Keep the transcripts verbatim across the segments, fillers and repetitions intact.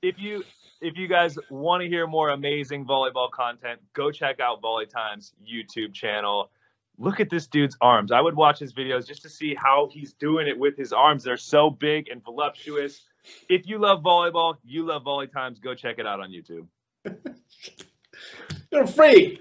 if you if you guys want to hear more amazing volleyball content, go check out Volley Time's YouTube channel. Look at this dude's arms. I would watch his videos just to see how he's doing it with his arms. They're so big and voluptuous. If you love volleyball, you love Volley Times, go check it out on YouTube. You're free.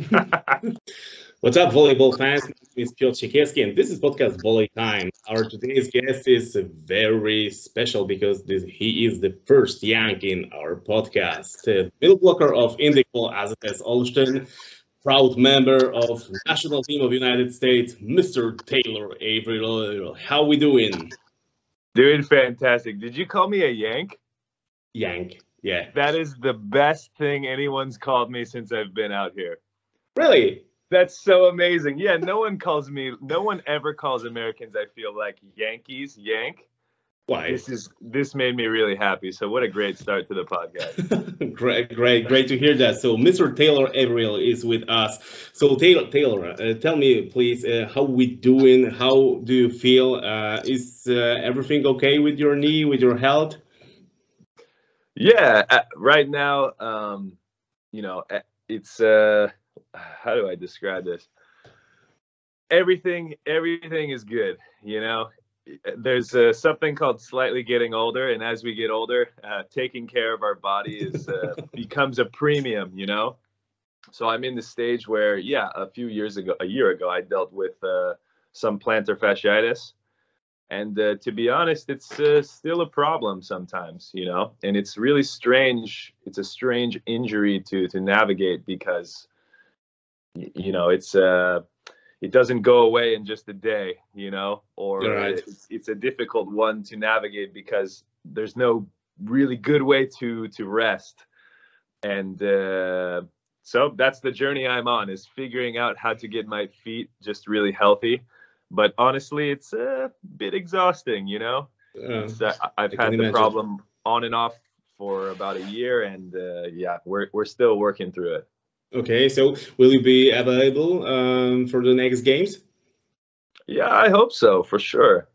What's up, volleyball fans? My name is Piotr Siekierski, and this is podcast Volley Time. Our today's guest is very special because this, he is the first Yank in our podcast. Uh, middle blocker of Indyk A Z S Olsztyn, proud member of national team of United States, Mister Taylor Averill. How we doing? Doing fantastic. Did you call me a Yank? Yank, yeah. That is the best thing anyone's called me since I've been out here. Really? That's so amazing. Yeah, no one calls me, no one ever calls Americans, I feel like, Yankees, Yank. Why? This is this made me really happy. So what a great start to the podcast. great, great, great to hear that. So Mister Taylor Averill is with us. So Taylor, Taylor, uh, tell me please, uh, how we doing? How do you feel? Uh, is uh, everything okay with your knee, with your health? Yeah, uh, right now, um, you know, it's uh, how do I describe this? Everything, everything is good. You know. There's uh, something called slightly getting older, and as we get older, uh, taking care of our body is uh, becomes a premium, you know. So I'm in the stage where, yeah, a few years ago, a year ago, I dealt with uh, some plantar fasciitis, and uh, to be honest, it's uh, still a problem sometimes, you know. And it's really strange. It's a strange injury to to navigate because, you know, it's uh it doesn't go away in just a day, you know, or right. it's, it's a difficult one to navigate because there's no really good way to to rest. And uh, so that's the journey I'm on, is figuring out how to get my feet just really healthy. But honestly, it's a bit exhausting, you know. Uh, uh, I've had the imagine. problem on and off for about a year, and uh, yeah, we're we're still working through it. Okay, so will you be available um, for the next games? Yeah, I hope so, for sure.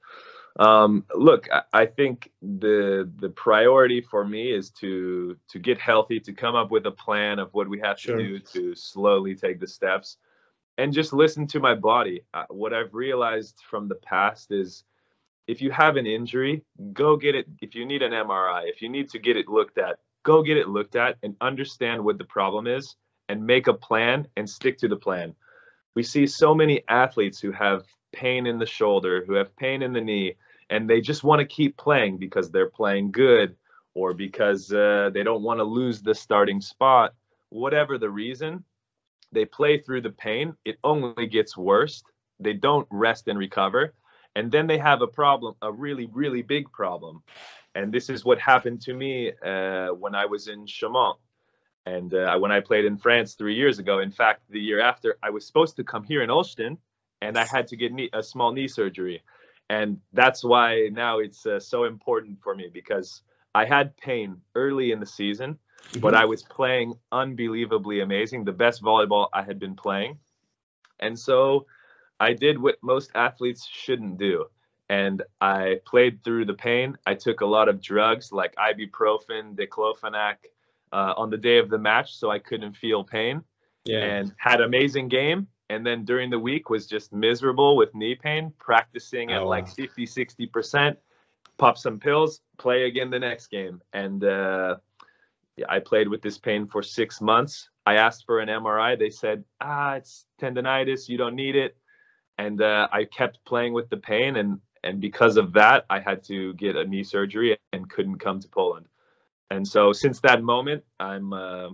Um, look, I, I think the the priority for me is to to get healthy, to come up with a plan of what we have Sure. to do to slowly take the steps, and just listen to my body. Uh, what I've realized from the past is, if you have an injury, go get it. If you need an M R I, if you need to get it looked at, go get it looked at and understand what the problem is, and make a plan and stick to the plan. We see so many athletes who have pain in the shoulder, who have pain in the knee, and they just want to keep playing because they're playing good, or because uh, they don't want to lose the starting spot. Whatever the reason, they play through the pain. It only gets worse. They don't rest and recover. And then they have a problem, a really, really big problem. And this is what happened to me uh, when I was in Chaumont. And uh, when I played in France three years ago, in fact, the year after, I was supposed to come here in Olsztyn, and I had to get knee, a small knee surgery. And that's why now it's uh, so important for me, because I had pain early in the season, mm-hmm. but I was playing unbelievably amazing, the best volleyball I had been playing. And so I did what most athletes shouldn't do. And I played through the pain. I took a lot of drugs like ibuprofen, diclofenac, Uh, on the day of the match, so I couldn't feel pain, yeah. and had amazing game. And then during the week was just miserable with knee pain, practicing at oh, like wow. fifty, sixty percent, pop some pills, play again the next game. And uh, yeah, I played with this pain for six months. I asked for an M R I. They said, ah, it's tendonitis, you don't need it. And uh, I kept playing with the pain. And, and because of that, I had to get a knee surgery and couldn't come to Poland. And so since that moment, I'm uh,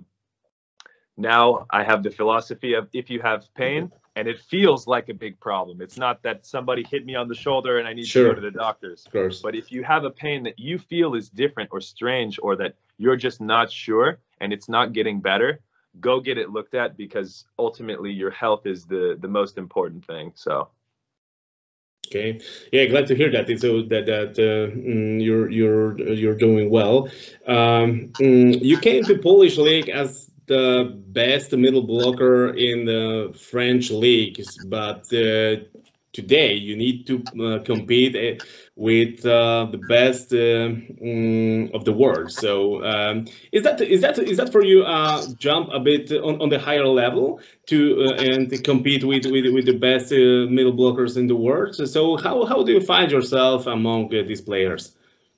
now I have the philosophy of, if you have pain and it feels like a big problem, it's not that somebody hit me on the shoulder and I need Sure. to go to the doctors. Of course. But if you have a pain that you feel is different or strange, or that you're just not sure and it's not getting better, go get it looked at, because ultimately your health is the, the most important thing. So. Okay, yeah, glad to hear that. So that that uh, mm, you're you're you're doing well. Um, mm, you came to Polish league as the best middle blocker in the French leagues, but uh, today you need to uh, compete uh, with uh, the best uh, mm, of the world. So um, is that is that is that for you uh, jump a bit on, on the higher level to uh, and to compete with, with with the best uh, middle blockers in the world? So how how do you find yourself among uh, these players?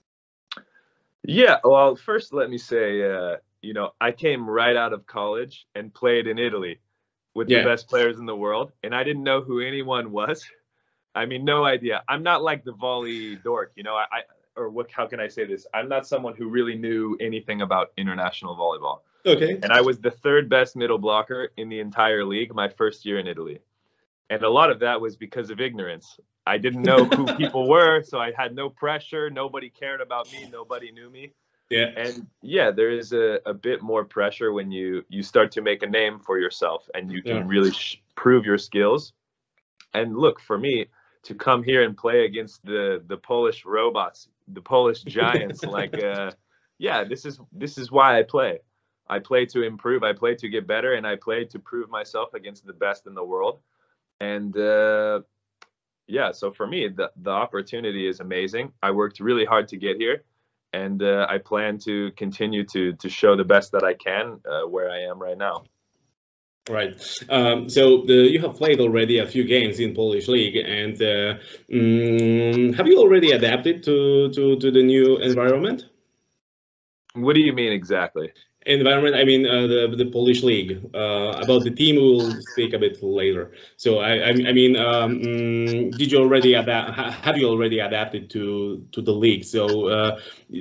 Yeah, well, first let me say, uh, you know, I came right out of college and played in Italy with Yeah. the best players in the world, and I didn't know who anyone was. I mean, no idea. I'm not like the volley dork, you know. I, I or what? How can I say this? I'm not someone who really knew anything about international volleyball. Okay. And I was the third best middle blocker in the entire league my first year in Italy. And a lot of that was because of ignorance. I didn't know who people were, so I had no pressure. Nobody cared about me. Nobody knew me. Yeah. And yeah, there is a, a bit more pressure when you you start to make a name for yourself and you can Yeah. really sh- prove your skills. And look, for me to come here and play against the the Polish robots, the Polish giants, like uh, yeah, this is this is why I play. I play to improve. I play to get better, and I play to prove myself against the best in the world. And uh, yeah, so for me, the, the opportunity is amazing. I worked really hard to get here, and uh, I plan to continue to to show the best that I can uh, where I am right now. Right. Um, so the, you have played already a few games in Polish league, and uh, mm, have you already adapted to, to, to the new environment? What do you mean exactly? Environment, I mean uh, the the Polish league. Uh, about the team, we will speak a bit later. So I I, I mean, um, mm, did you already adapt? Have you already adapted to to the league? So uh,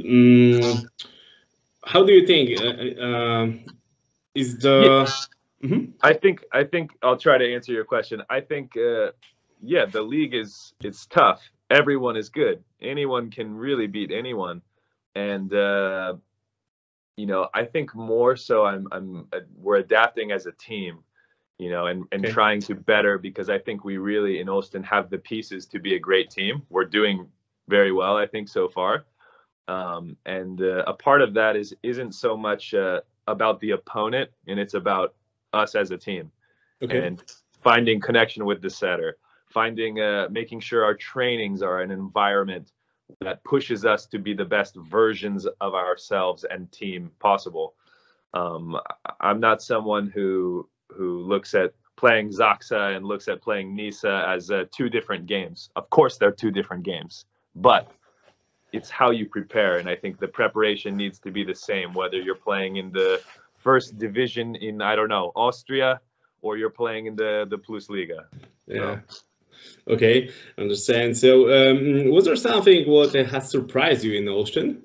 mm, how do you think uh, uh, is the? Yeah. Mm-hmm. I think I think I'll try to answer your question. I think uh, yeah, the league is it's tough. Everyone is good. Anyone can really beat anyone, and uh, you know I think more so I'm I'm uh, we're adapting as a team, you know, and and Okay. trying to better because I think we really in Olsztyn have the pieces to be a great team. We're doing very well, I think, so far, um, and uh, a part of that is isn't so much uh, about the opponent, and it's about us as a team. Okay. And finding connection with the setter, finding uh, making sure our trainings are an environment that pushes us to be the best versions of ourselves and team possible. Um, I'm not someone who who looks at playing Zaksa and looks at playing Nisa as uh, two different games. Of course, they're two different games, but it's how you prepare, and I think the preparation needs to be the same, whether you're playing in the first division in, I don't know, Austria, or you're playing in the the Plus Liga. Yeah. So. Okay, understand. So, um, was there something what has surprised you in Olsztyn?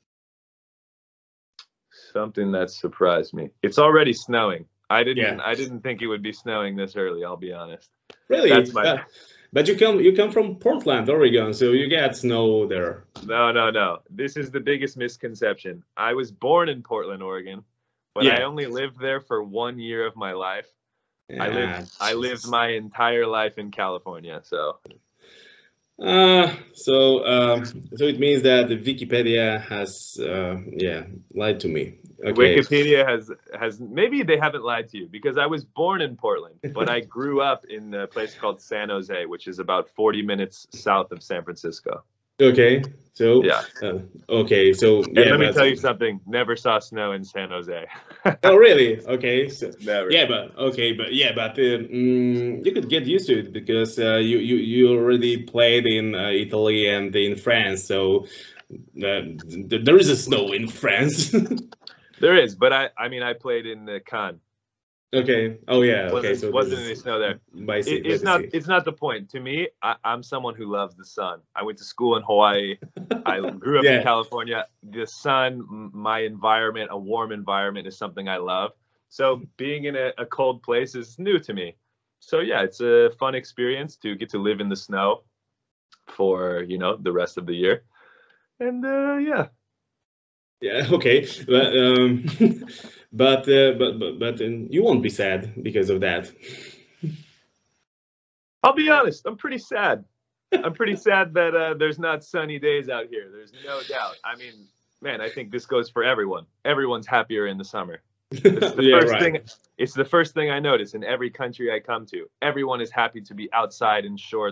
Something that surprised me. It's already snowing. I didn't. Yeah. I didn't think it would be snowing this early. I'll be honest. Really? That's my. Uh, but you come. You come from Portland, Oregon, so you get snow there. No, no, no. This is the biggest misconception. I was born in Portland, Oregon, but Yeah. I only lived there for one year of my life. Yeah. I lived. I lived my entire life in California. So. Uh, so um, so it means that the Wikipedia has uh, yeah lied to me. Okay. Wikipedia has has maybe they haven't lied to you because I was born in Portland, but I grew up in a place called San Jose, which is about forty minutes south of San Francisco. Okay, so yeah. Uh, okay, so and yeah. Let me but, tell you something. Never saw snow in San Jose. Oh, really? Okay. So, Never. Yeah, but okay, but yeah, but uh, mm, you could get used to it because uh, you you you already played in uh, Italy and in France, so uh, th there is a snow in France. There is, but I I mean I played in the Cannes. Okay. Oh yeah. Okay. Wasn't, so wasn't any snow there. By sea, it, it's by not. sea. It's not the point. To me, I, I'm someone who loves the sun. I went to school in Hawaii. I grew up Yeah. in California. The sun, my environment, a warm environment, is something I love. So being in a, a cold place is new to me. So yeah, it's a fun experience to get to live in the snow for you know the rest of the year. And uh, yeah. Yeah. Okay. But um, but, uh, but but but um, you won't be sad because of that. I'll be honest. I'm pretty sad. I'm pretty sad that uh, there's not sunny days out here. There's no doubt. I mean, man, I think this goes for everyone. Everyone's happier in the summer. It's the Yeah, first right. thing. It's the first thing I notice in every country I come to. Everyone is happy to be outside in shorts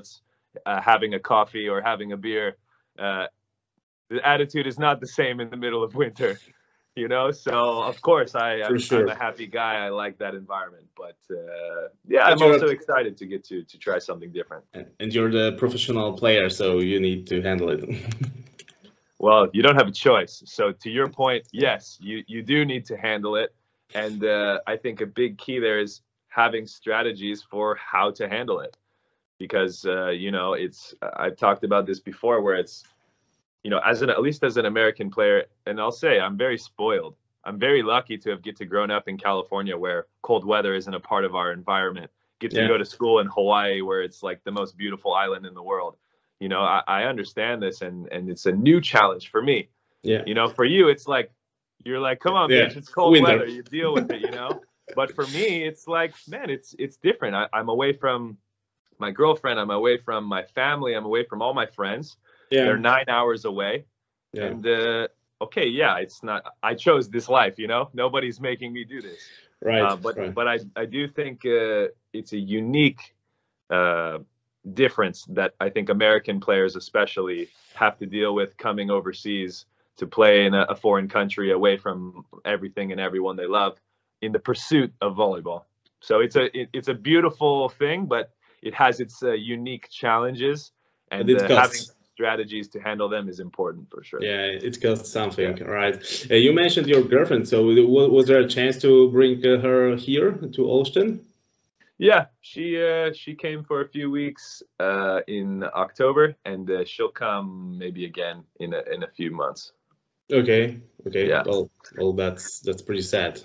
uh, having a coffee or having a beer. Uh, the attitude is not the same in the middle of winter, you know. So of course, I For I'm, I'm sure. a happy guy. I like that environment, but uh, yeah, But I'm you're also excited to get to to try something different. and you're the professional player, so you need to handle it. Well, you don't have a choice. So to your point, yes, you you do need to handle it, and uh, I think a big key there is having strategies for how to handle it, because uh, you know it's I've talked about this before, where it's you know as an at least as an American player, and I'll say I'm very spoiled. I'm very lucky to have get to grown up in California, where cold weather isn't a part of our environment. Get to Yeah. go to school in Hawaii, where it's like the most beautiful island in the world. You know, I, I understand this, and and it's a new challenge for me. Yeah. You know, for you, it's like you're like, come on, Yeah. bitch, it's cold Winter. weather. You deal with it, you know. But for me, it's like, man, it's it's different. I, I'm away from my girlfriend. I'm away from my family. I'm away from all my friends. Yeah. They're nine hours away, Yeah. and uh, okay, yeah, it's not. I chose this life, you know. Nobody's making me do this. Right. Uh, but Right. but I I do think uh, it's a unique uh, difference that I think American players especially have to deal with coming overseas to play in a, a foreign country away from everything and everyone they love in the pursuit of volleyball. So it's a it, it's a beautiful thing, but it has its uh, unique challenges, But and it uh, having costs. strategies to handle them is important for sure. Yeah, it costs something, Yeah. right? Uh, you mentioned your girlfriend, so w- was there a chance to bring uh, her here to Austin? Yeah, she uh, she came for a few weeks uh, in October, and uh, she'll come maybe again in a in a few months. Okay, okay. Yeah. Well, well, that's that's pretty sad.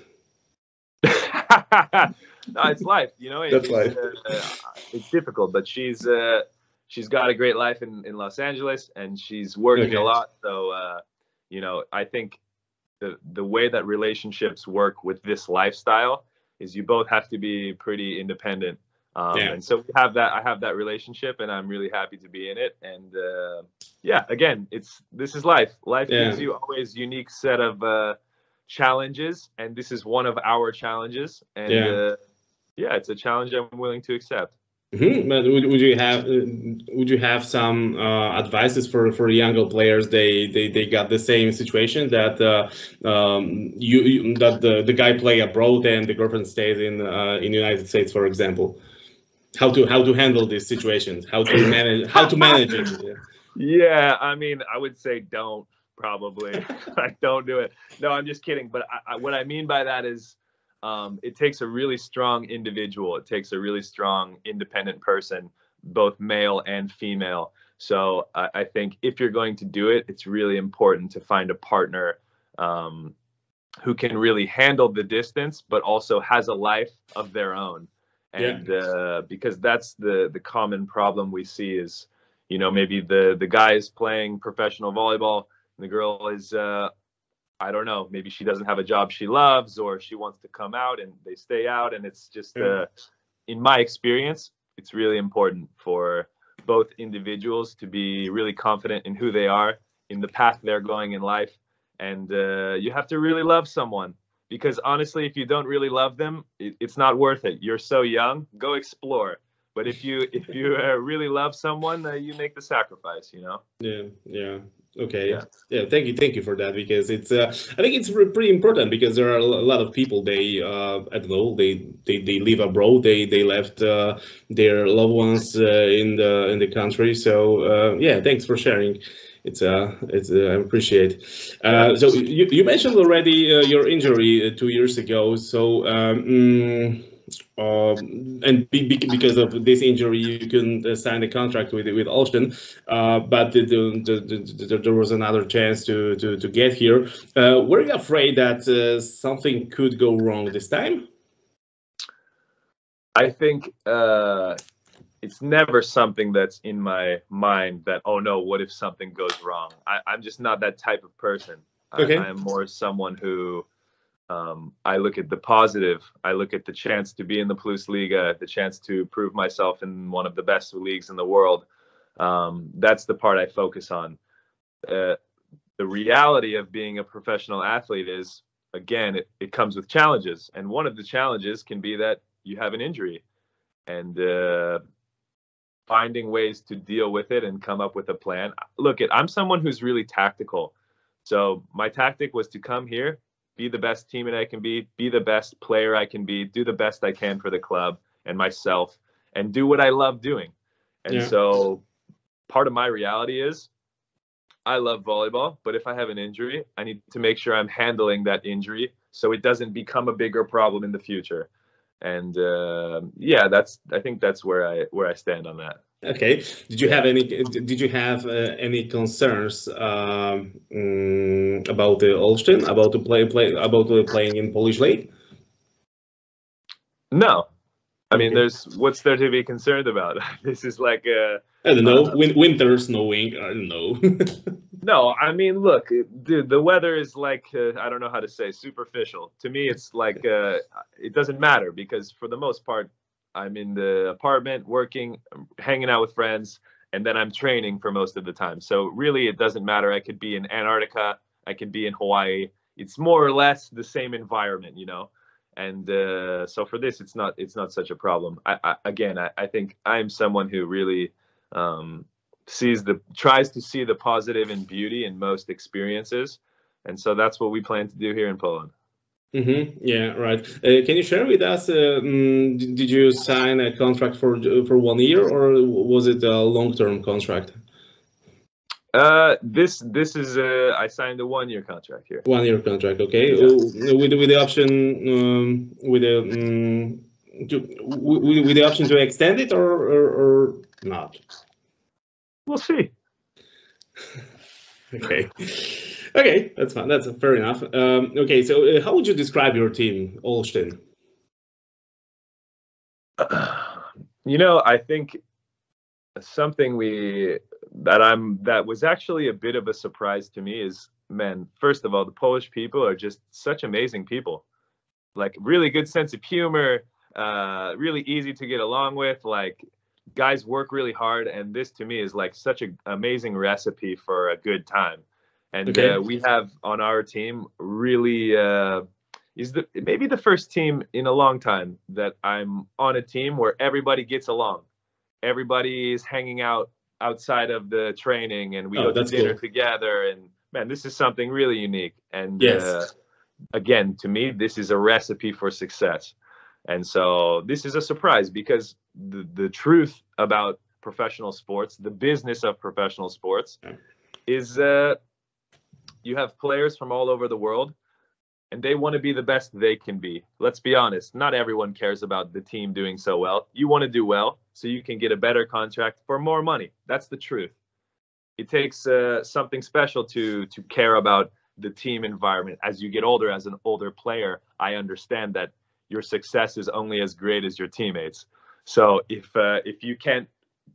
No, it's life, you know. It, That's it's life. uh, it's difficult, but she's uh, she's got a great life in, in Los Angeles, and she's working a Okay. lot. So uh, you know, I think the the way that relationships work with this lifestyle is you both have to be pretty independent. Um, Yeah. and so we have that. I have that relationship, and I'm really happy to be in it. And uh, yeah, again, it's this is life. Life Yeah. gives you always unique set of uh, challenges, and this is one of our challenges. And Yeah. uh, yeah, it's a challenge I'm willing to accept. Mm-hmm. But would, would you have uh, would you have some uh, advices for, for younger players? They, they they got the same situation that uh, um, you, you that the, the guy play abroad and the girlfriend stays in uh, in the United States, for example. How to how to handle these situations? How to manage how to manage it? Yeah. Yeah, I mean, I would say don't probably. Like, don't do it. No, I'm just kidding. But I, I, what I mean by that is, um, it takes a really strong individual. It takes a really strong, independent person, both male and female. So I, I think if you're going to do it, it's really important to find a partner um, who can really handle the distance, but also has a life of their own. Yeah. And uh, because that's the the common problem we see is, you know, maybe the the guy is playing professional volleyball, and the girl is, uh, I don't know, maybe she doesn't have a job she loves, or she wants to come out, and they stay out, and it's just, Yeah. uh, in my experience, it's really important for both individuals to be really confident in who they are, in the path they're going in life, and uh, you have to really love someone. Because honestly, if you don't really love them, it, it's not worth it. You're so young. Go explore. But if you if you uh, really love someone, uh, you make the sacrifice. You know. Yeah, yeah. Okay. Yeah. Yeah, thank you, thank you for that because it's uh, I think it's re- pretty important because there are a lo- a lot of people they uh, I don't know they they, they live abroad they they left uh, their loved ones uh, in the in the country so uh, yeah thanks for sharing. It's uh it's uh, I appreciate. Yeah. Uh, so you, you mentioned already uh, your injury uh, two years ago. So um, mm, um, and be, be, because of this injury, you couldn't uh, sign the contract with with Austin. Uh, but the, the, the, the, there was another chance to to, to get here. Uh, were you afraid that uh, something could go wrong this time? I think uh, it's never something that's in my mind that, oh no, what if something goes wrong? I, I'm just not that type of person. Okay. I, I'm more someone who um, I look at the positive. I look at the chance to be in the Plus Liga, the chance to prove myself in one of the best leagues in the world. Um, that's the part I focus on. Uh, the reality of being a professional athlete is, again, it, it comes with challenges. And one of the challenges can be that you have an injury. And uh, finding ways to deal with it and come up with a plan. Look, it, I'm someone who's really tactical. So my tactic was to come here, be the best teammate I can be, be the best player I can be, do the best I can for the club and myself, and do what I love doing. And Yeah. so part of my reality is I love volleyball, but if I have an injury, I need to make sure I'm handling that injury so it doesn't become a bigger problem in the future. And uh, yeah, that's I think that's where I where I stand on that. Okay. Did you have any? Did you have uh, any concerns um, mm, about the Olsztyn, about the play play about the playing in Polish league? No, I mean, Okay. there's what's there to be concerned about? This is like a I don't know. uh, Win winter snowing. I don't know. no. I mean, look, dude, the weather is like uh, I don't know how to say superficial. To me, it's like uh, it doesn't matter because for the most part, I'm in the apartment working, hanging out with friends, and then I'm training for most of the time. So really, it doesn't matter. I could be in Antarctica, I could be in Hawaii. It's more or less the same environment, you know. And uh, so for this, it's not it's not such a problem. I, I again, I, I think I'm someone who really um, sees the tries to see the positive and beauty in most experiences, and so that's what we plan to do here in Poland. Mm-hmm. Yeah, right. Uh, can you share with us? Uh, mm, d- did you sign a contract for for one year, or was it a long-term contract? Uh, this this is uh, I signed a one year contract here. One-year contract, okay. Yeah. Uh, with with the option um, with the um, to, with, with the option to extend it or or, or not. We'll see. Okay. Okay, that's fine. That's fair enough. Um, okay, so uh, how would you describe your team, Olsztyn? You know, I think something we that I'm that was actually a bit of a surprise to me is, man, first of all, the Polish people are just such amazing people. Like really good sense of humor, uh, really easy to get along with. Like guys work really hard, and this to me is like such an amazing recipe for a good time. And Okay. uh, we have on our team really uh, is the maybe the first team in a long time that I'm on a team where everybody gets along. Everybody is hanging out outside of the training, and we Oh, go to that's dinner cool. together. And man, this is something really unique. And Yes. uh, again, to me, this is a recipe for success. And so this is a surprise because the, the truth about professional sports, the business of professional sports, is uh, you have players from all over the world and they want to be the best they can be. Let's be honest, not everyone cares about the team doing so well. You want to do well so you can get a better contract for more money. That's the truth. It takes uh, something special to to care about the team environment. As you get older, as an older player, I understand that your success is only as great as your teammates. So if uh, if you can't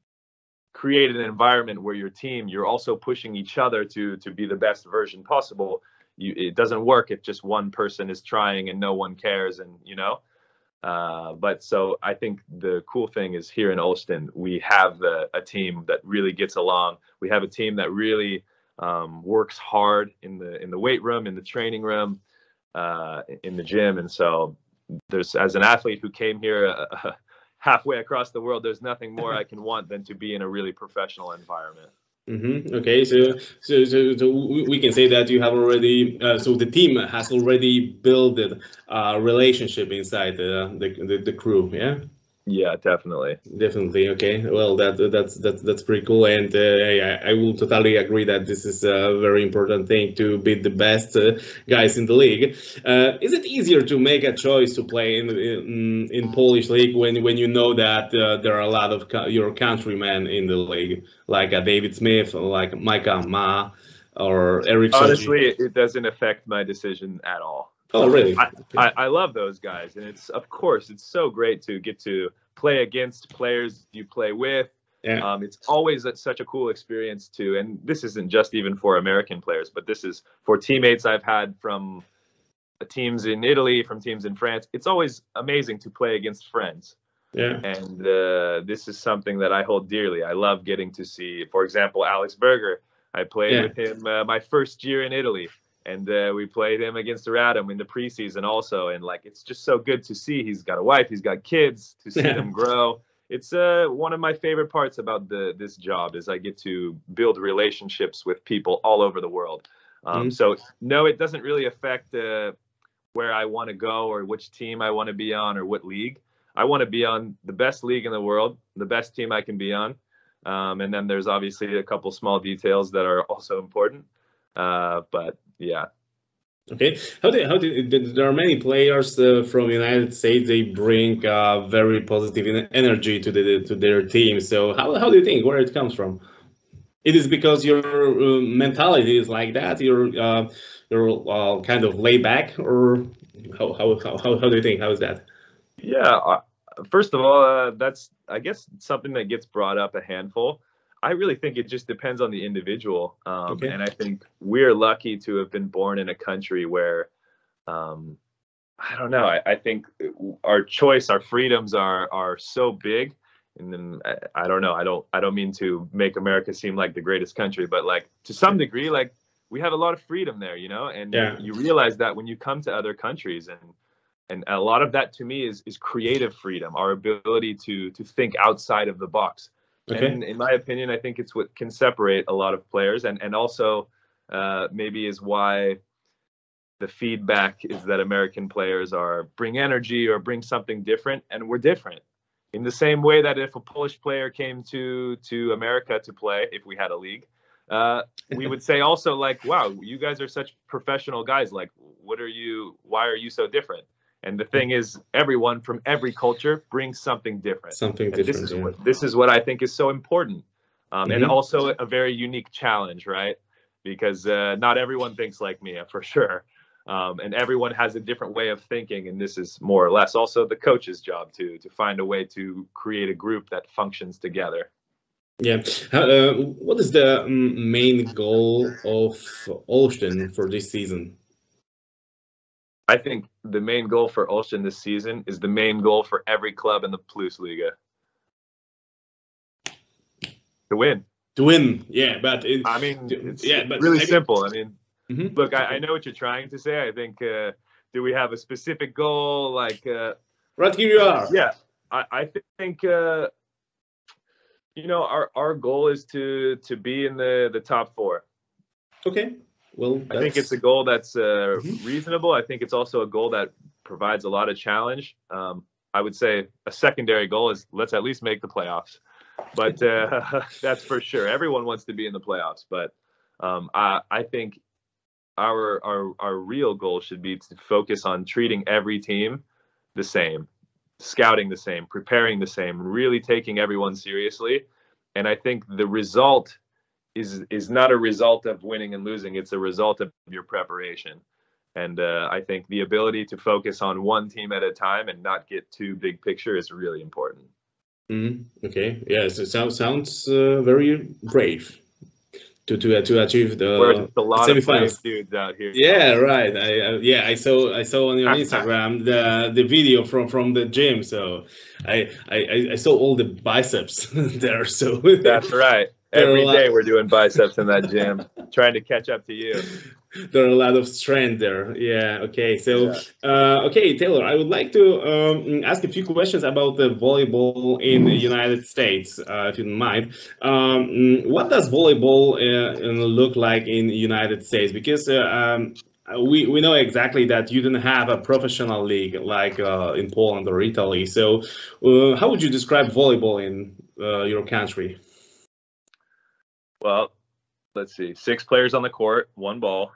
create an environment where your team, you're also pushing each other to to be the best version possible, you, it doesn't work if just one person is trying and no one cares, and you know. Uh, but so I think the cool thing is here in Olsztyn, we have a, a team that really gets along. We have a team that really um, works hard in the in the weight room, in the training room, uh, in the gym. And so there's, as an athlete who came here uh, halfway across the world, there's nothing more I can want than to be in a really professional environment. Mm-hmm. Okay, so, so so so we can say that you have already uh, so the team has already built a relationship inside the the, the, the crew, yeah. Yeah, definitely. Definitely. Okay. Well, that that's that's that's pretty cool, and uh, I, I will totally agree that this is a very important thing to be the best uh, guys in the league. Uh, is it easier to make a choice to play in in, in Polish league when when you know that uh, there are a lot of co your countrymen in the league, like uh, David Smith, like Micah Ma, or Eric Shoji? Honestly, it, it doesn't affect my decision at all. Oh, really? I, I, I love those guys, and it's of course it's so great to get to play against players you play with. Yeah. Um, it's always a, such a cool experience too, and this isn't just even for American players, but this is for teammates I've had from teams in Italy, from teams in France. It's always amazing to play against friends. Yeah. And uh, this is something that I hold dearly. I love getting to see, for example, Alex Berger. I played Yeah. with him uh, my first year in Italy. And uh, we played him against Radom in the preseason also. And like, it's just so good to see. He's got a wife, he's got kids, to see Yeah. them grow. it's uh, one of my favorite parts about the this job is I get to build relationships with people all over the world. Um, Mm-hmm. so no, it doesn't really affect uh, where I want to go or which team I want to be on or what league. I want to be on the best league in the world, the best team I can be on. Um, and then there's obviously a couple small details that are also important. Uh, but yeah. Okay. How do how do there are many players uh, from United States? They bring uh, very positive en- energy to the to their team. So how how do you think where it comes from? It is because your uh, mentality is like that. You're uh, you're uh, kind of laid back, or how how how how how do you think? How is that? Yeah. Uh, first of all, uh, that's, I guess, something that gets brought up a handful. I really think it just depends on the individual. Um, Okay. and I think we're lucky to have been born in a country where, um, I don't know. I, I think our choice, our freedoms are are so big. And then I, I don't know. I don't I don't mean to make America seem like the greatest country, but like to some degree, like we have a lot of freedom there, you know. And Yeah. you realize that when you come to other countries, and and a lot of that to me is is creative freedom, our ability to to think outside of the box. Okay. And in my opinion, I think it's what can separate a lot of players, and and also uh, maybe is why the feedback is that American players are bring energy or bring something different, and we're different. In the same way that if a Polish player came to to America to play, if we had a league, uh, we would say also like, wow, you guys are such professional guys. Like, what are you? Why are you so different? And the thing is, everyone from every culture brings something different, Something and this different. is Yeah. what this is what I think is so important, um, and Hmm. also a very unique challenge, right? Because uh, not everyone thinks like me, for sure. Um, and everyone has a different way of thinking, and this is more or less also the coach's job to to find a way to create a group that functions together. Yeah. How, uh, what is the mm, main goal of Olsztyn for this season? I think the main goal for Olsztyn this season is the main goal for every club in the Plus Liga: to win. To win. Yeah, but it, I mean, it's yeah, it's but really I mean, simple. I mean, mhm. look, I, I know what you're trying to say. I think, uh, do we have a specific goal? Like, uh, Right here you are. yeah, I, I think. Uh, you know, our, our goal is to to be in the the top four. Okay. Well, I think it's that's a goal that's uh, Mhm. reasonable. I think it's also a goal that provides a lot of challenge. Um, I would say a secondary goal is let's at least make the playoffs, but uh, that's for sure. Everyone wants to be in the playoffs, but um, I, I think our our our real goal should be to focus on treating every team the same, scouting the same, preparing the same, really taking everyone seriously. And I think the result is is not a result of winning and losing. It's a result of your preparation. And uh, I think the ability to focus on one team at a time and not get too big picture is really important. Mhm. Okay. Yes, it sounds sounds uh, very brave to to uh, to achieve We're the just a lot of brave semifinals. dudes out here. Yeah, right. I, I yeah, I saw I saw on your Instagram the the video from from the gym. So I I I saw all the biceps there. So That's right. there are a Every lot. day we're doing biceps in that gym, trying to catch up to you. There are a lot of strength there. Yeah. Okay. So, Yeah. uh, okay, Taylor, I would like to um, ask a few questions about the volleyball in the United States, uh, if you don't mind. Um, what does volleyball uh, look like in the United States? Because uh, um, we we know exactly that you don't have a professional league like uh, in Poland or Italy. So, uh, how would you describe volleyball in uh, your country? Well, let's see. Six players on the court, one ball.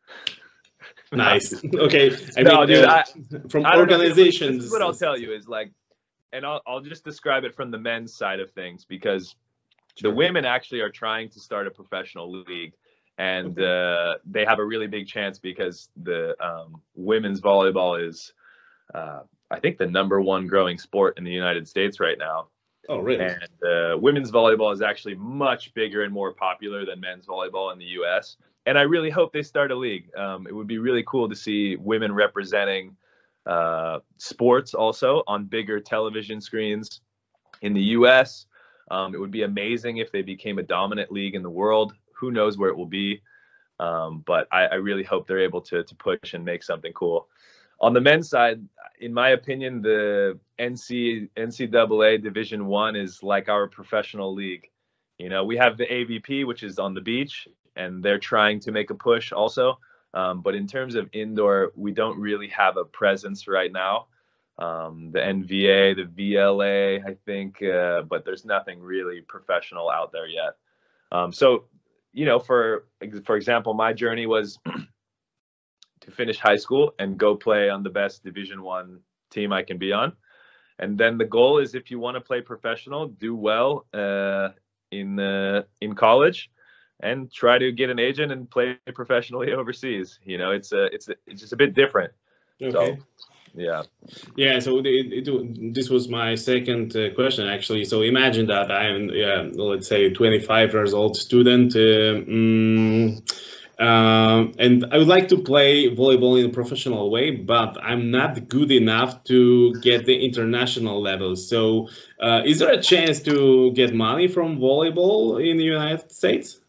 Nice. Okay. I No, mean, dude, uh, I from I don't know. Here, look, this is organizations. what I'll tell you is like, and I'll I'll just describe it from the men's side of things because the Sure. women actually are trying to start a professional league, and Okay. uh, they have a really big chance because the um, women's volleyball is, uh, I think, the number one growing sport in the United States right now. Oh, really? And uh, women's volleyball is actually much bigger and more popular than men's volleyball in the U S. And I really hope they start a league. Um, it would be really cool to see women representing uh, sports also on bigger television screens in the U S. Um, it would be amazing if they became a dominant league in the world. Who knows where it will be? Um, but I, I really hope they're able to to push and make something cool. on the men's side, in my opinion, the N C N C double A Division One is like our professional league. You know, we have the A V P, which is on the beach, and they're trying to make a push also. Um, but in terms of indoor, we don't really have a presence right now. Um, the N V A, the V L A, I think, uh, but there's nothing really professional out there yet. Um, so, you know, for for example, my journey was to finish high school and go play on the best Division One team I can be on. And then the goal is, if you want to play professional, do well uh, in uh, in college, and try to get an agent and play professionally overseas. You know, it's a it's a, it's just a bit different. Okay. So, yeah. Yeah. So it, it, this was my second uh, question, actually. So imagine that I'm, yeah, let's say, twenty-five years old student. Uh, mm, Um, and I would like to play volleyball in a professional way, but I'm not good enough to get the international level. So uh, is there a chance to get money from volleyball in the United States?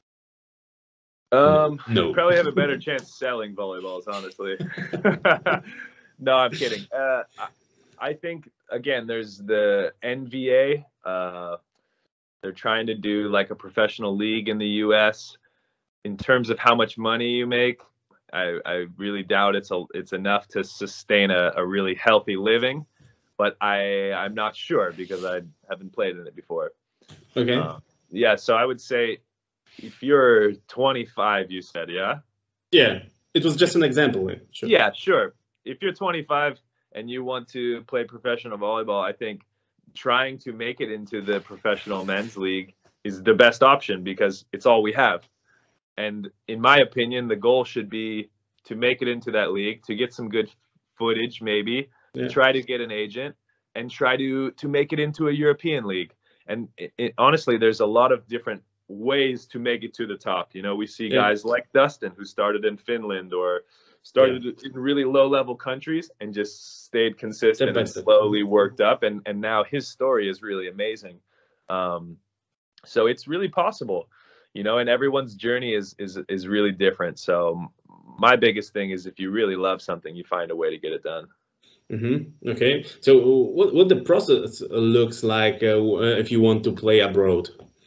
Um, no. You probably have a better chance selling volleyballs, honestly. No, I'm kidding. Uh, I think, again, there's the N V A. Uh, they're trying to do like a professional league in the U S. In terms of how much money you make, I, I really doubt it's a, it's enough to sustain a, a really healthy living. But I I'm not sure, because I haven't played in it before. Okay. Uh, yeah, so I would say, if you're twenty-five, you said, yeah? Yeah, it was just an example. Sure. Yeah, sure. If you're twenty-five and you want to play professional volleyball, I think trying to make it into the professional men's league is the best option, because it's all we have. And in my opinion, the goal should be to make it into that league, to get some good footage, maybe, yeah. try to get an agent, and try to to make it into a European league. And it, it, honestly, there's a lot of different ways to make it to the top. You know, we see yeah. guys like Dustin, who started in Finland or started yeah. in really low-level countries and just stayed consistent and slowly worked up. And, and now his story is really amazing. Um, so it's really possible. You know, and everyone's journey is is is really different. So my biggest thing is, if you really love something, you find a way to get it done. Mm-hmm. Okay. So what what the process looks like uh, if you want to play abroad?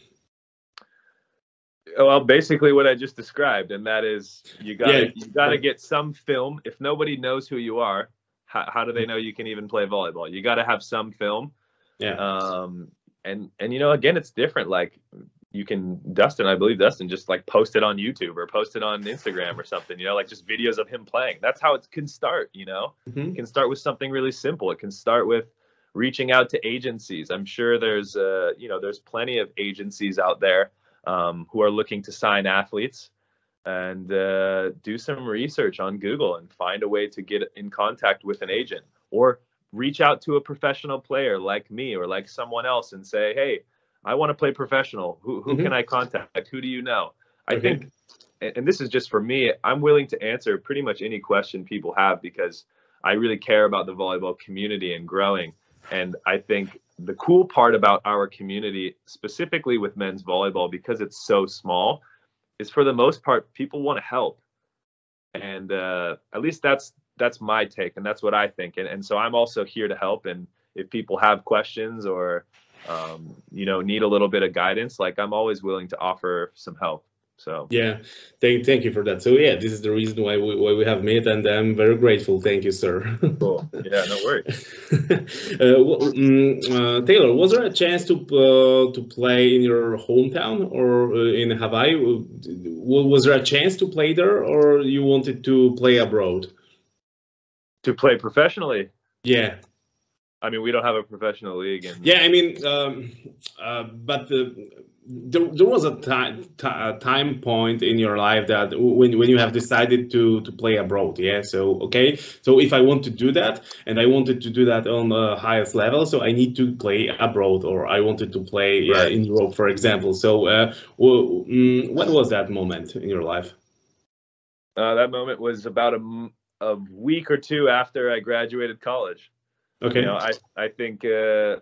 Well, basically what I just described, and that is, you got yeah. you got to get some film. If nobody knows who you are, how, how do they know you can even play volleyball? You got to have some film. Yeah. Um. And and you know, again, it's different. Like, you can, Dustin, I believe Dustin just like post it on YouTube or post it on Instagram or something, you know, like just videos of him playing. That's how it can start, you know. Mm-hmm. It can start with something really simple. It can start with reaching out to agencies. I'm sure there's, uh, you know, there's plenty of agencies out there um, who are looking to sign athletes, and uh, do some research on Google and find a way to get in contact with an agent, or reach out to a professional player like me or like someone else and say, hey, I want to play professional. Who who mm-hmm. can I contact? Who do you know? I okay. think, and this is just for me, I'm willing to answer pretty much any question people have, because I really care about the volleyball community and growing. And I think the cool part about our community, specifically with men's volleyball, because it's so small, is for the most part, people want to help. And uh, at least that's that's my take, and that's what I think. And, and so I'm also here to help. And if people have questions or um, you know, need a little bit of guidance, like, I'm always willing to offer some help. So yeah, thank thank you for that. So yeah, this is the reason why we why we have met, and I'm very grateful. Thank you, sir. Cool. Yeah, no worries. uh, well, um, uh, Taylor, was there a chance to uh, to play in your hometown or uh, in Hawaii? Was there a chance to play there, or you wanted to play abroad? To play professionally? Yeah. I mean, we don't have a professional league. And yeah, I mean, um, uh, but uh, there, there was a time a time point in your life that when when you have decided to to play abroad. Yeah, so okay, so if I want to do that, and I wanted to do that on the highest level, so I need to play abroad, or I wanted to play right. uh, in Europe, for example. So uh, well, um, what was that moment in your life? Uh, that moment was about a, a week or two after I graduated college. Okay. You know, I, I think uh,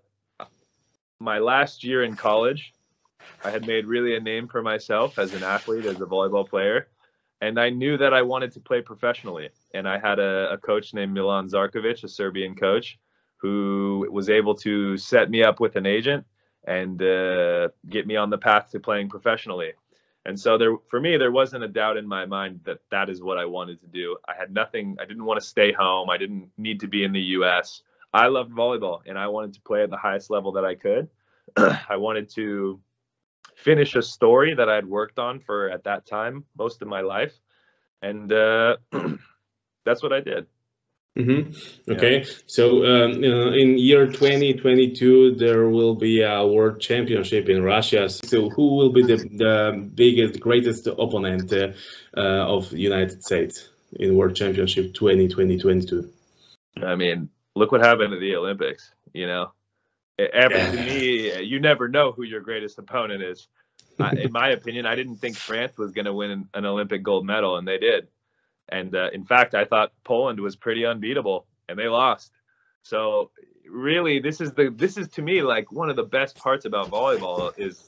my last year in college, I had made really a name for myself as an athlete, as a volleyball player. and I knew that I wanted to play professionally. And I had a, a coach named Milan Zarkovic, a Serbian coach, who was able to set me up with an agent and uh, get me on the path to playing professionally. And so there, for me, there wasn't a doubt in my mind that that is what I wanted to do. I had nothing, I didn't want to stay home. I didn't need to be in the U S. I loved volleyball and I wanted to play at the highest level that I could. I wanted to finish a story that I had worked on for, at that time, most of my life. And uh, that's what I did. Mm-hmm. Okay, yeah. So um, uh, in year twenty twenty-two, there will be a world championship in Russia. So who will be the, the biggest, greatest opponent uh, uh, of the United States in World Championship twenty twenty-two? I mean, look what happened at the Olympics, you know? Ever, to me, you never know who your greatest opponent is. I, in my opinion, I didn't think France was going to win an Olympic gold medal, and they did. And uh, in fact, I thought Poland was pretty unbeatable, and they lost. So really, this is the this is to me like one of the best parts about volleyball is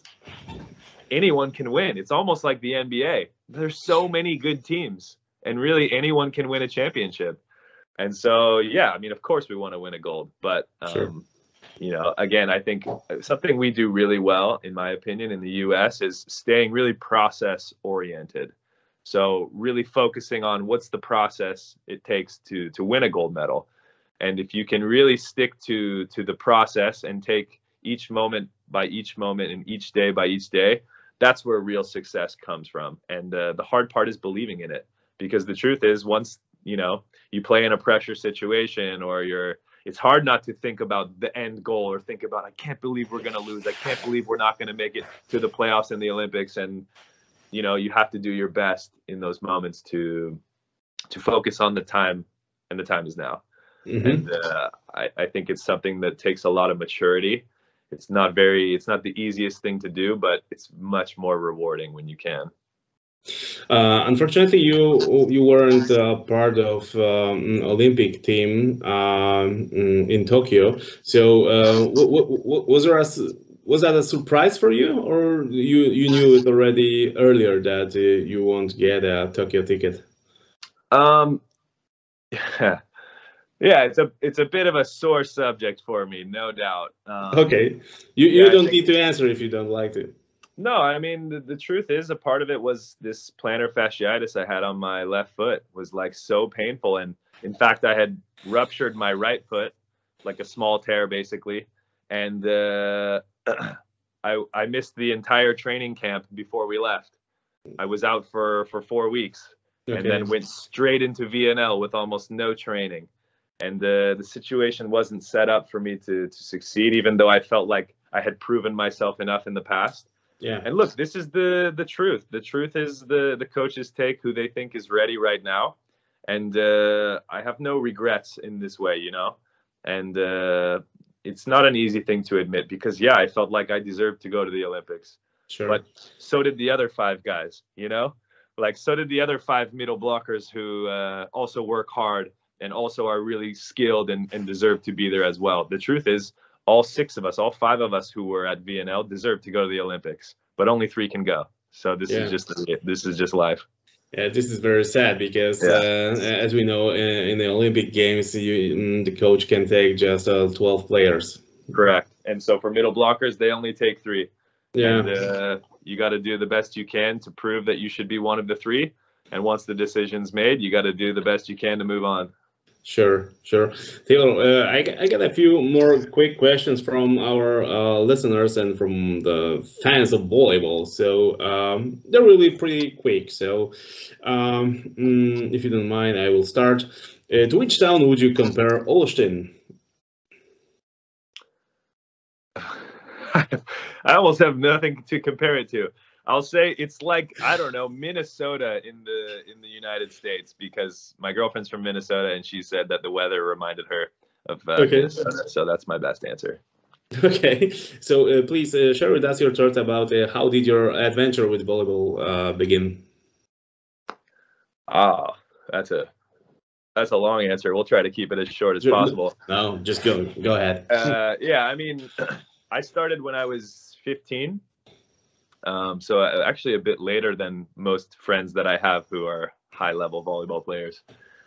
anyone can win. It's almost like the N B A. There's so many good teams, and really anyone can win a championship. And so, yeah, I mean, of course we want to win a gold, but um, sure. you know, again, I think something we do really well, in my opinion, in the U S is staying really process oriented. So really focusing on what's the process it takes to to win a gold medal. And if you can really stick to to the process and take each moment by each moment and each day by each day, that's where real success comes from. And uh, the hard part is believing in it, because the truth is, once, you know, you play in a pressure situation or you're, it's hard not to think about the end goal or think about, I can't believe we're going to lose. I can't believe we're not going to make it to the playoffs in the Olympics. And you know, you have to do your best in those moments to to focus on the time, and the time is now. Mm-hmm. And uh, I, I think it's something that takes a lot of maturity. It's not very, it's not the easiest thing to do, but it's much more rewarding when you can. Uh, unfortunately, you you weren't uh, part of um, Olympic team um, in Tokyo. So uh, w- w- was there a Was that a surprise for you, or you you knew it already earlier that uh, you won't get a Tokyo ticket? Um, yeah, yeah, it's a it's a bit of a sore subject for me, no doubt. Um, okay, you you yeah, don't need to answer if you don't like to. No, I mean the, the truth is, a part of it was this plantar fasciitis I had on my left foot was like so painful, and in fact I had ruptured my right foot, like a small tear basically, and. Uh, I, I missed the entire training camp before we left. I was out for, for four weeks okay. and then went straight into V N L with almost no training. And uh, the situation wasn't set up for me to, to succeed, even though I felt like I had proven myself enough in the past. Yeah. And look, this is the, the truth. The truth is the, the coaches take who they think is ready right now. And uh, I have no regrets in this way, you know, and uh, it's not an easy thing to admit because, yeah, I felt like I deserved to go to the Olympics. Sure. But so did the other five guys, you know, like so did the other five middle blockers who uh, also work hard and also are really skilled and, and deserve to be there as well. The truth is, all six of us, all five of us who were at V N L deserve to go to the Olympics, but only three can go. So this yeah. is just this is just life. Yeah, this is very sad because, yeah. uh, as we know, in, in the Olympic Games, you, the coach can take just uh, twelve players. Correct. And so for middle blockers, they only take three. Yeah. And uh, you got to do the best you can to prove that you should be one of the three. And once the decision's made, you got to do the best you can to move on. Sure, sure. Taylor, uh, I, I got a few more quick questions from our uh, listeners and from the fans of volleyball. So um, they're really pretty quick. So um, mm, if you don't mind, I will start. Uh, to which town would you compare Olsztyn? I almost have nothing to compare it to. I'll say it's like, I don't know, Minnesota in the in the United States, because my girlfriend's from Minnesota and she said that the weather reminded her of uh, okay. Minnesota. So that's my best answer. Okay. So uh, please uh, share with us your thoughts about uh, how did your adventure with volleyball uh, begin? Ah, that's a that's a long answer. We'll try to keep it as short as possible. No, just go. Go ahead. uh, yeah, I mean, I started when I was fifteen. Um, so uh, actually a bit later than most friends that I have who are high level volleyball players.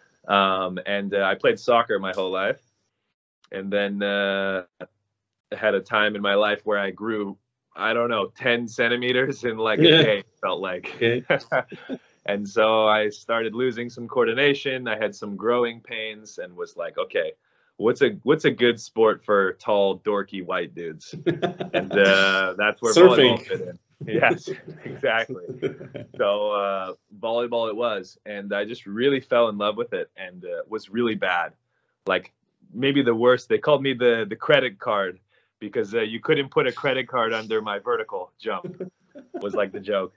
Um, and uh, I played soccer my whole life. And then uh, had a time in my life where I grew, I don't know, ten centimeters in like a day, felt like. Okay. And so I started losing some coordination. I had some growing pains and was like, okay, what's a what's a good sport for tall, dorky white dudes? And uh, that's where Surfing. volleyball fit in. Yes, exactly. So uh, volleyball it was, and I just really fell in love with it, and uh, was really bad. Like maybe the worst. They called me the the credit card because uh, you couldn't put a credit card under my vertical jump. Was like the joke.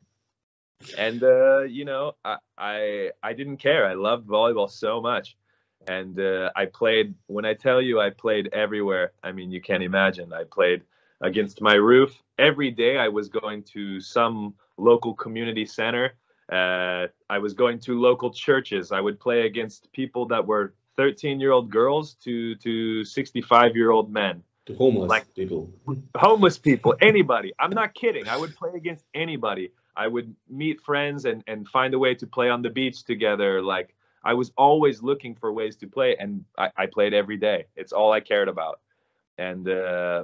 And uh, you know, I, I I didn't care. I loved volleyball so much, and uh, I played. When I tell you, I played everywhere. I mean, you can't imagine. I played against my roof every day. I was going to some local community center. Uh, I was going to local churches. I would play against people that were thirteen-year-old girls to to sixty-five-year-old men. To homeless Like people. Homeless people, anybody. I'm not kidding. I would play against anybody. I would meet friends and, and find a way to play on the beach together. Like I was always looking for ways to play, and I, I played every day. It's all I cared about. And uh,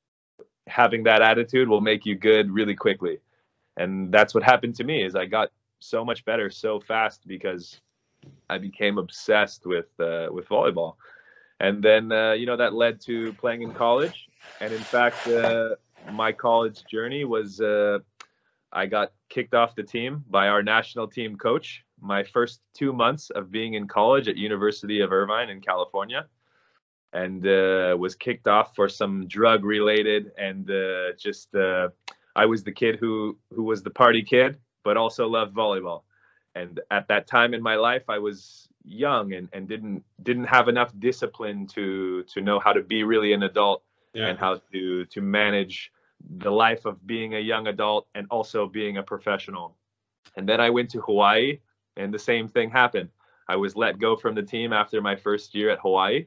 having that attitude will make you good really quickly. And that's what happened to me is I got so much better so fast because I became obsessed with uh, with volleyball. And then, uh, you know, that led to playing in college. And in fact, uh, my college journey was uh, I got kicked off the team by our national team coach my first two months of being in college at University of Irvine in California, and uh, was kicked off for some drug related. And uh, just uh, I was the kid who who was the party kid, but also loved volleyball. And at that time in my life, I was young and, and didn't didn't have enough discipline to to know how to be really an adult, yeah, and how to to manage the life of being a young adult and also being a professional. And then I went to Hawaii, and the same thing happened. I was let go from the team after my first year at Hawaii,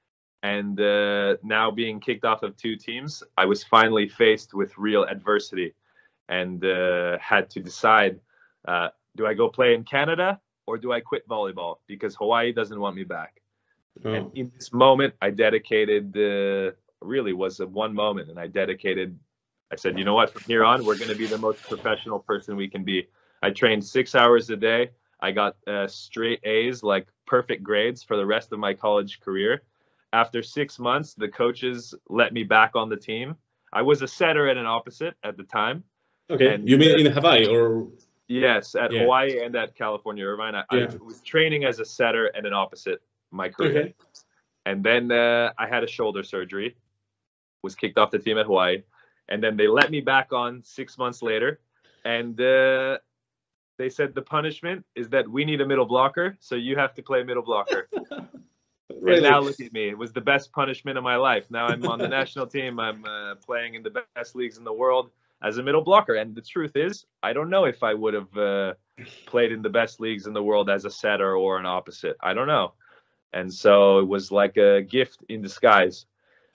and uh, now being kicked off of two teams, I was finally faced with real adversity and uh, had to decide, uh, do I go play in Canada or do I quit volleyball? Because Hawaii doesn't want me back. Oh. And in this moment, I dedicated, uh, really was a one moment, and I dedicated, I said, you know what, from here on, we're going to be the most professional person we can be. I trained six hours a day. I got uh, straight A's, like perfect grades for the rest of my college career. After six months, the coaches let me back on the team. I was a setter and an opposite at the time. Okay, and, you mean in Hawaii or? Yes, at yeah. Hawaii and at California Irvine. I, yeah. I was training as a setter and an opposite my career. Okay. And then uh, I had a shoulder surgery, was kicked off the team at Hawaii. And then they let me back on six months later. And uh, they said the punishment is that we need a middle blocker, so you have to play middle blocker. Really? And now look at me. It was the best punishment of my life. Now I'm on the national team. I'm uh, playing in the best leagues in the world as a middle blocker. And the truth is, I don't know if I would have uh, played in the best leagues in the world as a setter or an opposite. I don't know. And so it was like a gift in disguise.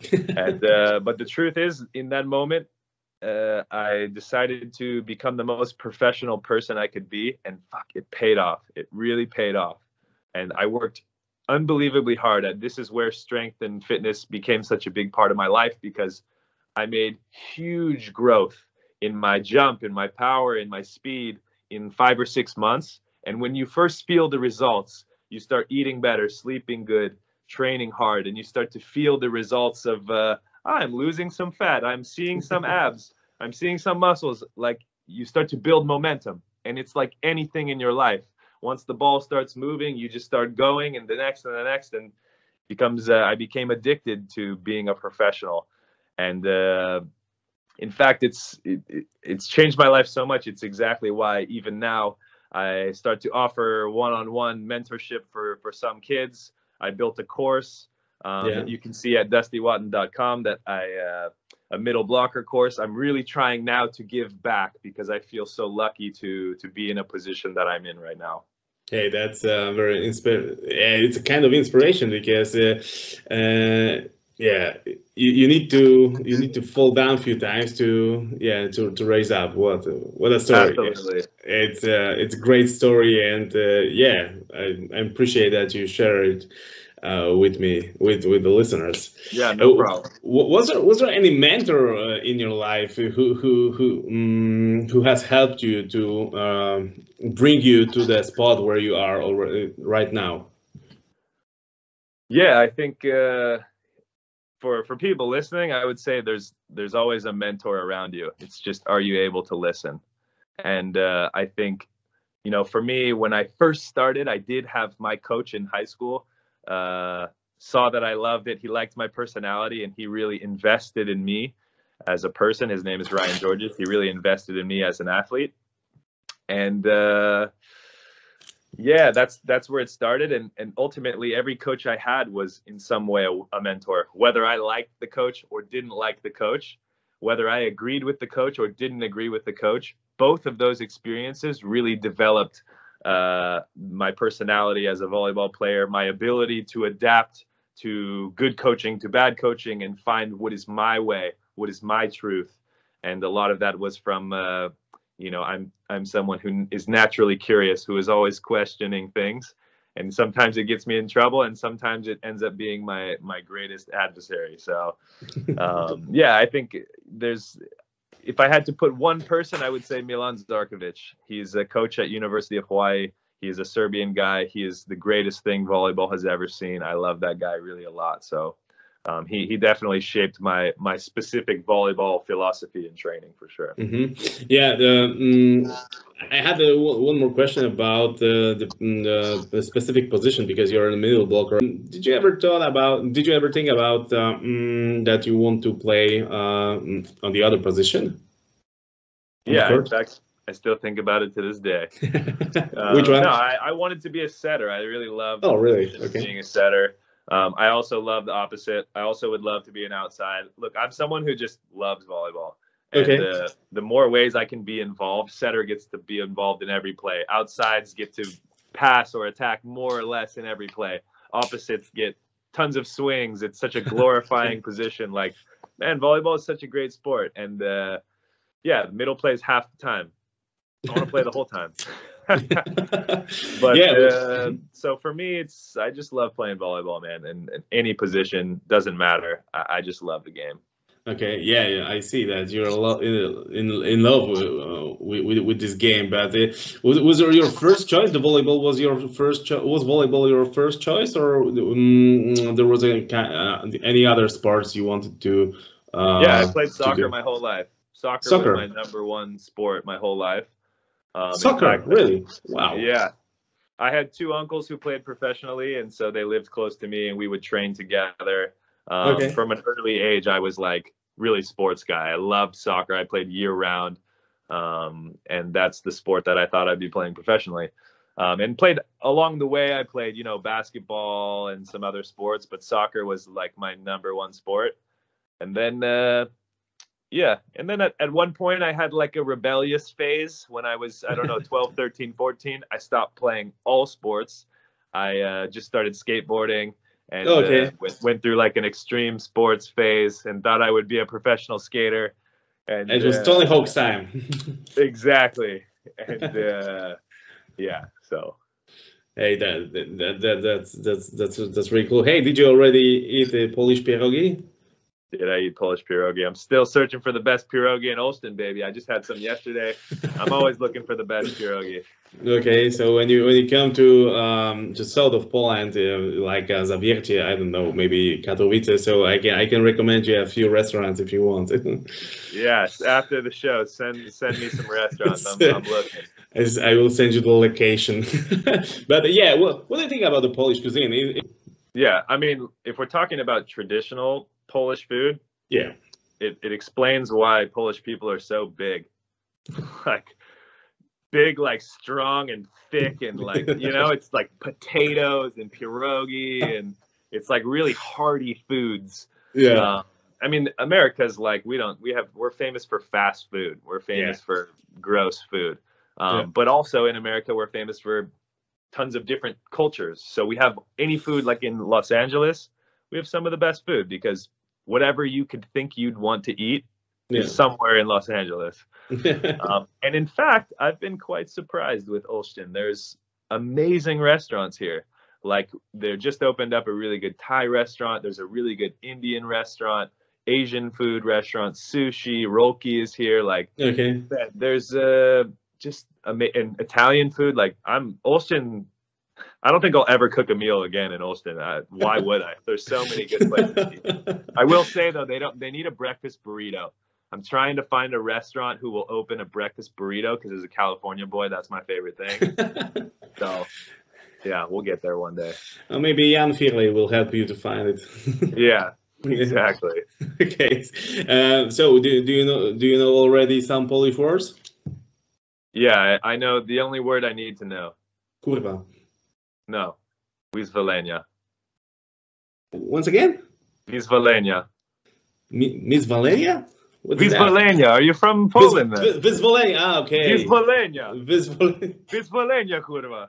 and uh, But the truth is, in that moment, uh, I decided to become the most professional person I could be. And fuck, it paid off. It really paid off. And I worked unbelievably hard at this is where strength and fitness became such a big part of my life, because I made huge growth in my jump, in my power, in my speed in five or six months. And when you first feel the results, you start eating better, sleeping good, training hard, and you start to feel the results of uh, I'm losing some fat, I'm seeing some abs, I'm seeing some muscles. Like, you start to build momentum. And it's like anything in your life. Once the ball starts moving, you just start going, and the next and the next, and becomes. Uh, I became addicted to being a professional, and uh, in fact, it's it, it's changed my life so much. It's exactly why even now I start to offer one-on-one mentorship for for some kids. I built a course um, yeah. that you can see at dusty watton dot com that I uh, a middle blocker course. I'm really trying now to give back because I feel so lucky to to be in a position that I'm in right now. Hey, that's uh, very inspiring. It's a kind of inspiration because, uh, uh, yeah, you, you need to you need to fall down a few times to yeah to, to raise up. What what a story! Absolutely. It's uh, it's a great story, and uh, yeah, I, I appreciate that you share it uh, with me with with the listeners. Yeah, no problem. Uh, was there was there any mentor uh, in your life who who who um, who has helped you to um, bring you to the spot where you are already right now? Yeah, I think uh, for for people listening, I would say there's there's always a mentor around you. It's just, are you able to listen? And uh, I think, you know, for me, when I first started, I did have my coach in high school. Uh, saw that I loved it. He liked my personality, and he really invested in me as a person. His name is Ryan Georges. He really invested in me as an athlete. And uh, yeah, that's that's where it started. And and ultimately, every coach I had was in some way a, a mentor. Whether I liked the coach or didn't like the coach, whether I agreed with the coach or didn't agree with the coach, both of those experiences really developed uh, my personality as a volleyball player, my ability to adapt to good coaching, to bad coaching, and find what is my way, what is my truth. And a lot of that was from, uh, you know, I'm I'm someone who is naturally curious, who is always questioning things. And sometimes it gets me in trouble, and sometimes it ends up being my my greatest adversary. So, um, yeah, I think there's, if I had to put one person, I would say Milan Zarkovic. He's a coach at University of Hawaii. He is a Serbian guy. He is the greatest thing volleyball has ever seen. I love that guy really a lot. So um, he he definitely shaped my my specific volleyball philosophy and training for sure. Mm-hmm. Yeah, the, um, I had a, one more question about uh, the, the the specific position, because you're in the middle blocker. Did you ever thought about? Did you ever think about uh, um, that you want to play uh, on the other position? Yeah, in fact, I still think about it to this day. uh, Which one? No, I, I wanted to be a setter. I really loved oh, really? Okay. being a setter. Um, I also love the opposite. I also would love to be an outside. Look, I'm someone who just loves volleyball. And okay. uh, the more ways I can be involved, setter gets to be involved in every play. Outsides get to pass or attack more or less in every play. Opposites get tons of swings. It's such a glorifying position. Like, man, volleyball is such a great sport. And uh, yeah, middle plays half the time. I want to play the whole time. but yeah, uh, so for me, it's I just love playing volleyball, man. And, and any position doesn't matter. I, I just love the game. Okay, yeah, yeah, I see that you're a lot in in, in love with, uh, with with this game. But uh, was was it your first choice? The volleyball was your first cho- was volleyball your first choice, or um, there was a, uh, any other sports you wanted to? Uh, yeah, I played soccer my whole life. Soccer, soccer was my number one sport my whole life. Um, soccer, fact, really? Wow. Yeah, I had two uncles who played professionally, and so they lived close to me, and we would train together. Um, okay. From an early age, I was like really sports guy. I loved soccer. I played year round. Um, and that's the sport that I thought I'd be playing professionally. Um, and played along the way. I played, you know, basketball and some other sports, but soccer was like my number one sport. And then, uh, yeah. And then at, at one point I had like a rebellious phase when I was, I don't know, twelve, thirteen, fourteen. I stopped playing all sports. I uh, just started skateboarding. And okay. uh, went, went through like an extreme sports phase and thought I would be a professional skater. And it was uh, Tony Hawk's time. Exactly. And uh, yeah, so. Hey, that, that that that's that's that's that's really cool. Hey, did you already eat a Polish pierogi? Did I eat Polish pierogi? I'm still searching for the best pierogi in Olsztyn, baby. I just had some yesterday. I'm always looking for the best pierogi. Okay, so when you when you come to um to south of Poland, uh, like uh, Zawiercie, I don't know, maybe Katowice, so I can I can recommend you a few restaurants if you want. Yes, after the show, send send me some restaurants. I'm, I'm looking. I will send you the location. But yeah, well, what do you think about the Polish cuisine? It, it... Yeah, I mean, if we're talking about traditional Polish food, yeah, it, it explains why Polish people are so big. Like big, like strong and thick, and like, you know, it's like potatoes and pierogi, and it's like really hearty foods. Yeah. Um, I mean, America's like, we don't, we have, we're famous for fast food. We're famous yeah. for gross food. Um, yeah. But also in America, we're famous for tons of different cultures. So we have any food, like in Los Angeles, we have some of the best food because whatever you could think you'd want to eat Yeah. is somewhere in Los Angeles. um, and in fact, I've been quite surprised with Olsztyn. There's amazing restaurants here. Like, they're just opened up a really good Thai restaurant. There's a really good Indian restaurant, Asian food restaurant, sushi, Rolki is here. Like, Okay. there's uh, just ama- and Italian food. Like, I'm Olsztyn. I don't think I'll ever cook a meal again in Olsztyn. I, why would I? There's so many good places to eat. I will say though, they don't. They need a breakfast burrito. I'm trying to find a restaurant who will open a breakfast burrito because as a California boy, that's my favorite thing. So, yeah, we'll get there one day. Well, maybe Jan Firley will help you to find it. Yeah, exactly. Okay. Uh, so, do, do you know do you know already some Polish words? Yeah, I, I know the only word I need to know. Kurwa. No, Wyzwolenia. Once again? Wyzwolenia. Mi- Miss Valeria? What is that? Wyzwolenia. Are you from Poland? Vis- then? Vis- Vyzwolenia. Ah, okay. Wyzwolenia. Vyzwolenia. Wyzwolenia, kurwa.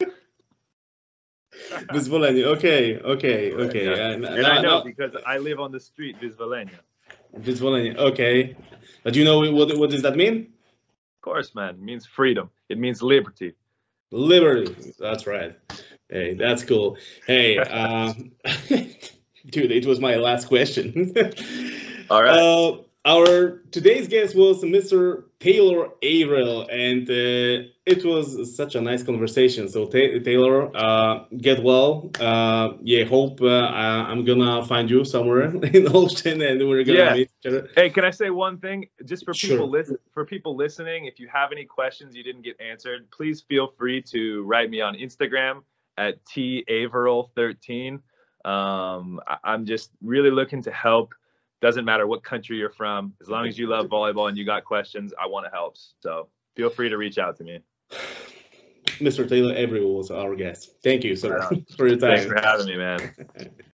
Vyzwolenia. Okay, okay, okay. Yeah. Uh, And no, I know no. because I live on the street, Wyzwolenia. Vyzwolenia. Okay. But you know what what does that mean? Of course, man. It means freedom. It means liberty. Liberty. That's right. Hey, that's cool. Hey, um, dude, it was my last question. All right. Uh, our today's guest was Mister Taylor Averill, and uh, it was such a nice conversation. So Ta- Taylor, uh, get well. Uh, yeah, hope uh, I- I'm gonna find you somewhere in Olsztyn, and we're gonna Yeah. meet each other. Hey, can I say one thing? Just for people Sure. listen, for people listening, if you have any questions you didn't get answered, please feel free to write me on Instagram at T Averill thirteen. Um, I- I'm just really looking to help. Doesn't matter what country you're from, as long as you love volleyball and you got questions, I want to help. So feel free to reach out to me. Mister Taylor Averill was our guest. Thank you, sir, Right on. for your time. Thanks for having me, man.